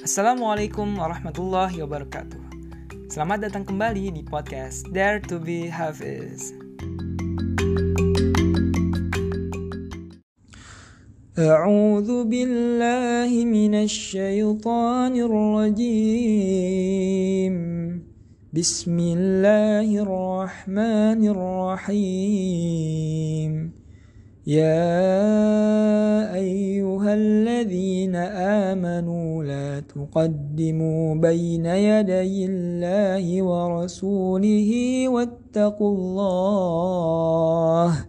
Assalamualaikum warahmatullahi wabarakatuh. Selamat datang kembali di podcast Dare to be Hafiz. A'udzu billahi minasy syaithanir rajim. Bismillahirrahmanirrahim. Ya ayyuhalladzina amanu la tuqaddimu baina yadayillahi wa rasulihi wattaqullah.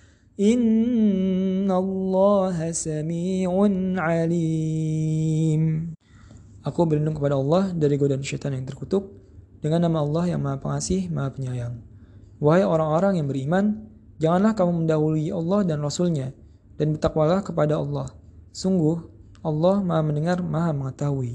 Innallaha sami'un alim. Aku berlindung kepada Allah dari godaan syaitan yang terkutuk dengan nama Allah yang Maha Pengasih, Maha Penyayang. Wahai orang-orang yang beriman, janganlah kamu mendahului Allah dan Rasul-Nya, dan bertakwalah kepada Allah. Sungguh, Allah Maha Mendengar, Maha Mengetahui.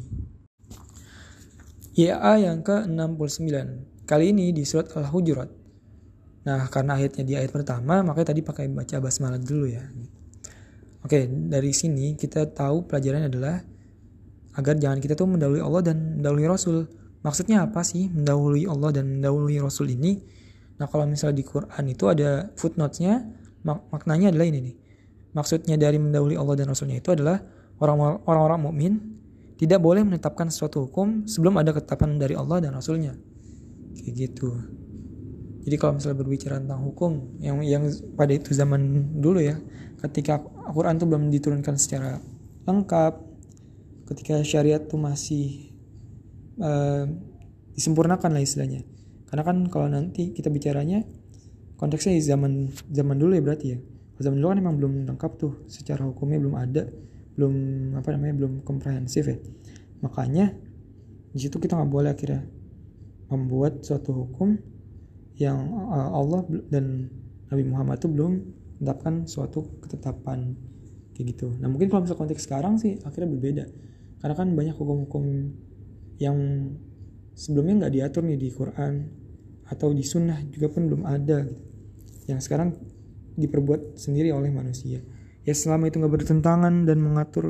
YA yang ke-69. Kali ini di surat Al-Hujurat. Nah, karena ayatnya di ayat pertama, makanya tadi pakai baca basmalah dulu ya. Oke, dari sini kita tahu pelajarannya adalah agar jangan kita tuh mendahului Allah dan mendahului Rasul. Maksudnya apa sih mendahului Allah dan mendahului Rasul ini? Nah, kalau misalnya di Quran itu ada footnote-nya, maknanya adalah ini nih. Maksudnya dari mendahului Allah dan Rasul-Nya itu adalah orang-orang mukmin tidak boleh menetapkan suatu hukum sebelum ada ketetapan dari Allah dan Rasul-Nya. Kayak gitu. Jadi kalau misalnya berbicara tentang hukum yang pada itu zaman dulu ya, ketika Al-Quran itu belum diturunkan secara lengkap, ketika syariat itu masih disempurnakan lah istilahnya. Karena kan kalau nanti kita bicaranya konteksnya zaman dulu ya berarti ya. Zaman dulu kan memang belum lengkap tuh, secara hukumnya belum ada, belum komprehensif ya. Makanya di situ kita nggak boleh akhirnya membuat suatu hukum yang Allah dan Nabi Muhammad itu belum menetapkan suatu ketetapan kayak gitu. Nah mungkin kalau misalnya konteks sekarang sih akhirnya berbeda, karena kan banyak hukum-hukum yang sebelumnya nggak diatur nih di Quran atau di Sunnah juga pun belum ada gitu. Yang sekarang diperbuat sendiri oleh manusia. Ya selama itu nggak bertentangan dan mengatur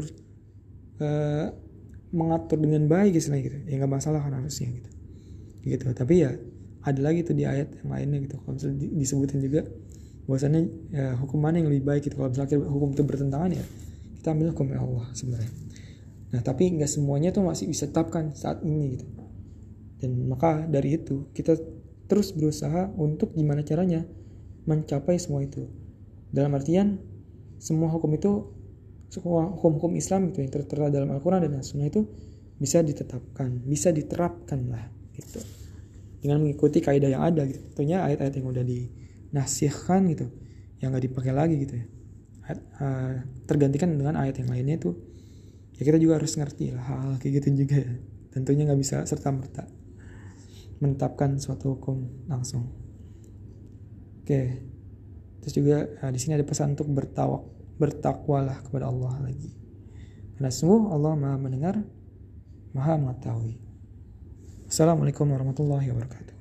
dengan baik istilahnya gitu, ya nggak masalah kan harusnya gitu. Tapi ya ada lagi tuh di ayat yang lainnya gitu. Kalau misalnya disebutin juga bahwasannya ya, hukum mana yang lebih baik gitu. Kalau misalnya hukum itu bertentangan ya kita ambil hukum Allah sebenarnya. Nah tapi nggak semuanya tuh masih bisa tetapkan saat ini gitu. Dan maka dari itu kita terus berusaha untuk gimana caranya mencapai semua itu. Dalam artian semua hukum Islam itu yang tertera dalam Al-Quran dan As-Sunnah itu bisa ditetapkan, bisa diterapkan lah gitu. Dengan mengikuti kaidah yang ada gitu. Tentunya ayat-ayat yang udah dinasihkan gitu, yang nggak dipakai lagi gitu ya, tergantikan dengan ayat yang lainnya tuh. Ya kita juga harus ngerti lah hal kayak gitu juga ya. Tentunya nggak bisa serta-merta menetapkan suatu hukum langsung. Oke. Terus juga di sini ada pesan untuk bertakwalah kepada Allah lagi. Karena sungguh Allah Maha Mendengar, Maha Mengetahui. Assalamualaikum warahmatullahi wabarakatuh.